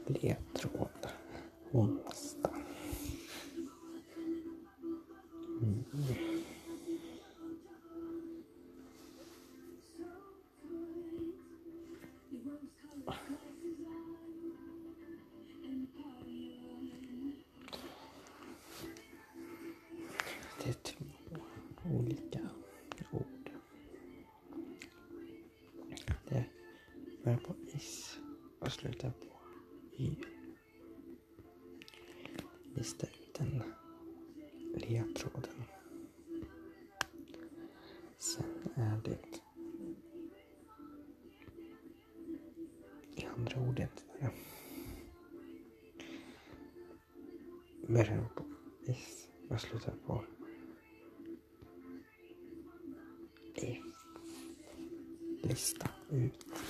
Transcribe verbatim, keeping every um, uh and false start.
ledtråd. Onsdag. Mm. Det är två olika ord. Det börjar på is och slutar på y. Lista ut den ledtråden. Sen är det det andra ordet där. Börjar på is och slutar på F. Lista ut.